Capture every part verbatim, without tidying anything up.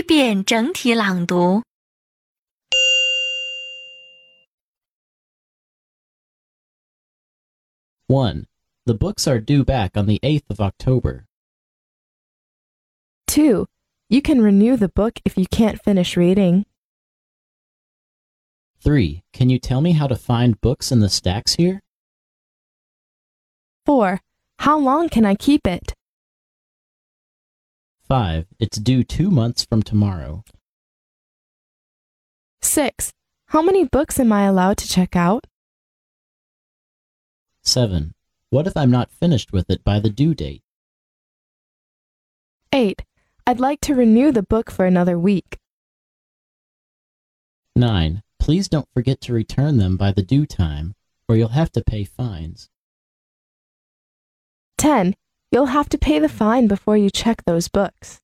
一遍整体朗读。 one. The books are due back on the eighth of October. two. You can renew the book if you can't finish reading. three. Can you tell me how to find books in the stacks here? four. How long can I keep it? five. It's due two months from tomorrow. six. How many books am I allowed to check out? seven. What if I'm not finished with it by the due date? eight. I'd like to renew the book for another week. nine. Please don't forget to return them by the due time, or you'll have to pay fines. ten. You'll have to pay the fine before you check those books.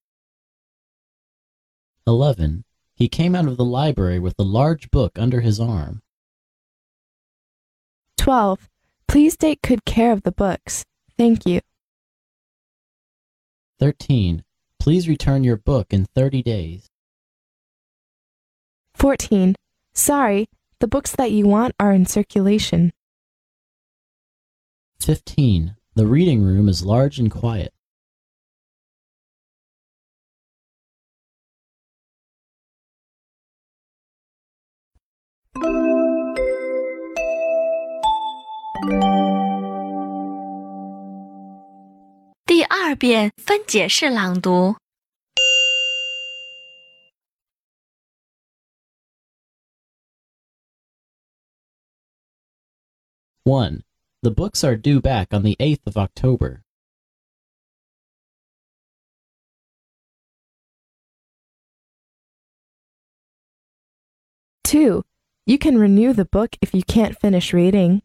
eleven. He came out of the library with a large book under his arm. twelve. Please take good care of the books. Thank you. thirteen. Please return your book in thirty days. fourteen. Sorry, the books that you want are in circulation. fifteen. The reading room is large and quiet. 《第二遍分解式朗读。 one. The books are due back on the eighth of October. two. You can renew the book if you can't finish reading.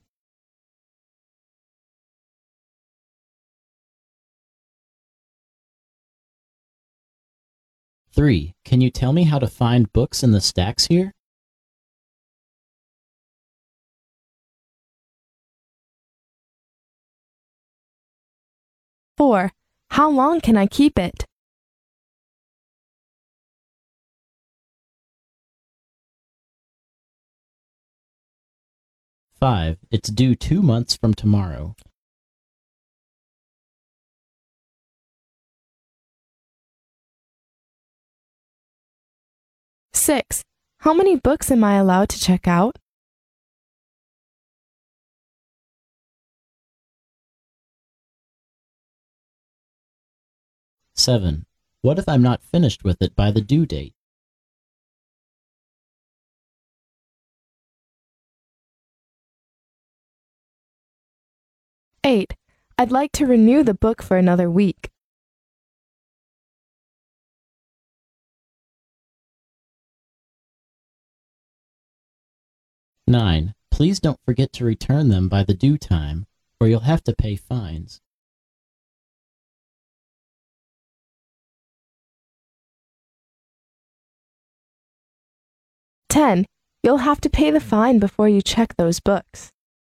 three. Can you tell me how to find books in the stacks here? four. How long can I keep it? five. It's due two months from tomorrow. six. How many books am I allowed to check out? seven. What if I'm not finished with it by the due date? eight. I'd like to renew the book for another week. nine. Please don't forget to return them by the due time, or you'll have to pay fines. ten. You'll have to pay the fine before you check those books.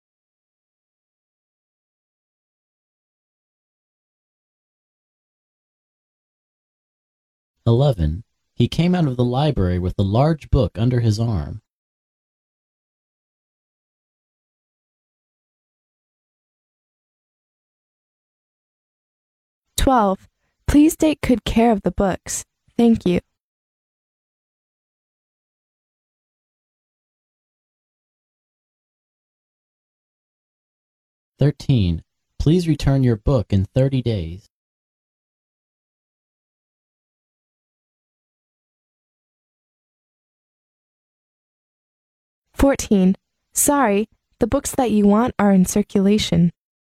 eleven. He came out of the library with a large book under his arm. twelve. Please take good care of the books. Thank you. thirteen. Please return your book in thirty days. fourteen. Sorry, the books that you want are in circulation.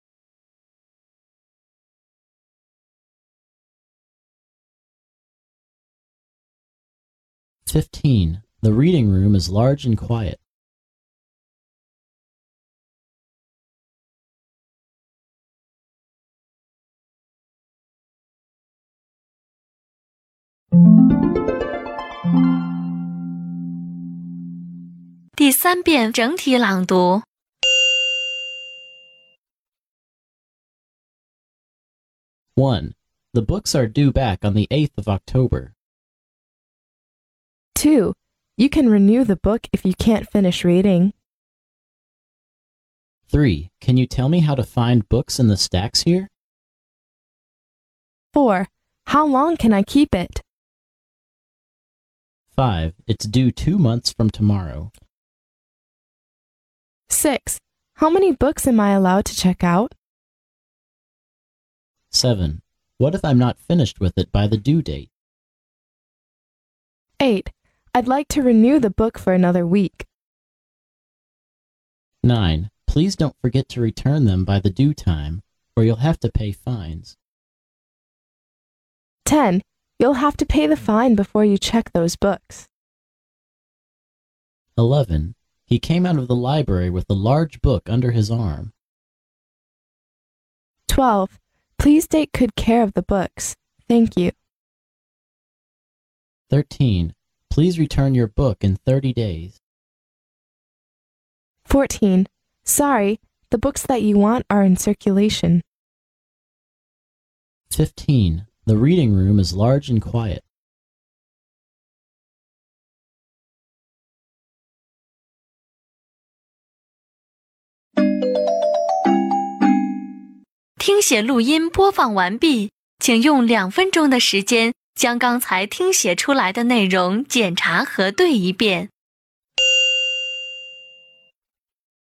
fifteen. The reading room is large and quiet. 《第三遍整体朗读。 one. The books are due back on the eighth of October. Two, you can renew the book if you can't finish reading. Three, can you tell me how to find books in the stacks here? Four, how long can I keep it? Five, it's due two months from tomorrow. Six, how many books am I allowed to check out? Seven, what if I'm not finished with it by the due date? Eight, I'd like to renew the book for another week. Nine, please don't forget to return them by the due time, or you'll have to pay fines. Ten, you'll have to pay the fine before you check those books. Eleven, he came out of the library with a large book under his arm. Twelve, please take good care of the books. Thank you. Thirteen, please return your book in thirty days. Fourteen, sorry, the books that you want are in circulation. Fifteen, the reading room is large and quiet. 《听写录音播放完毕，请用两分钟的时间将刚才听写出来的内容检查核对一遍。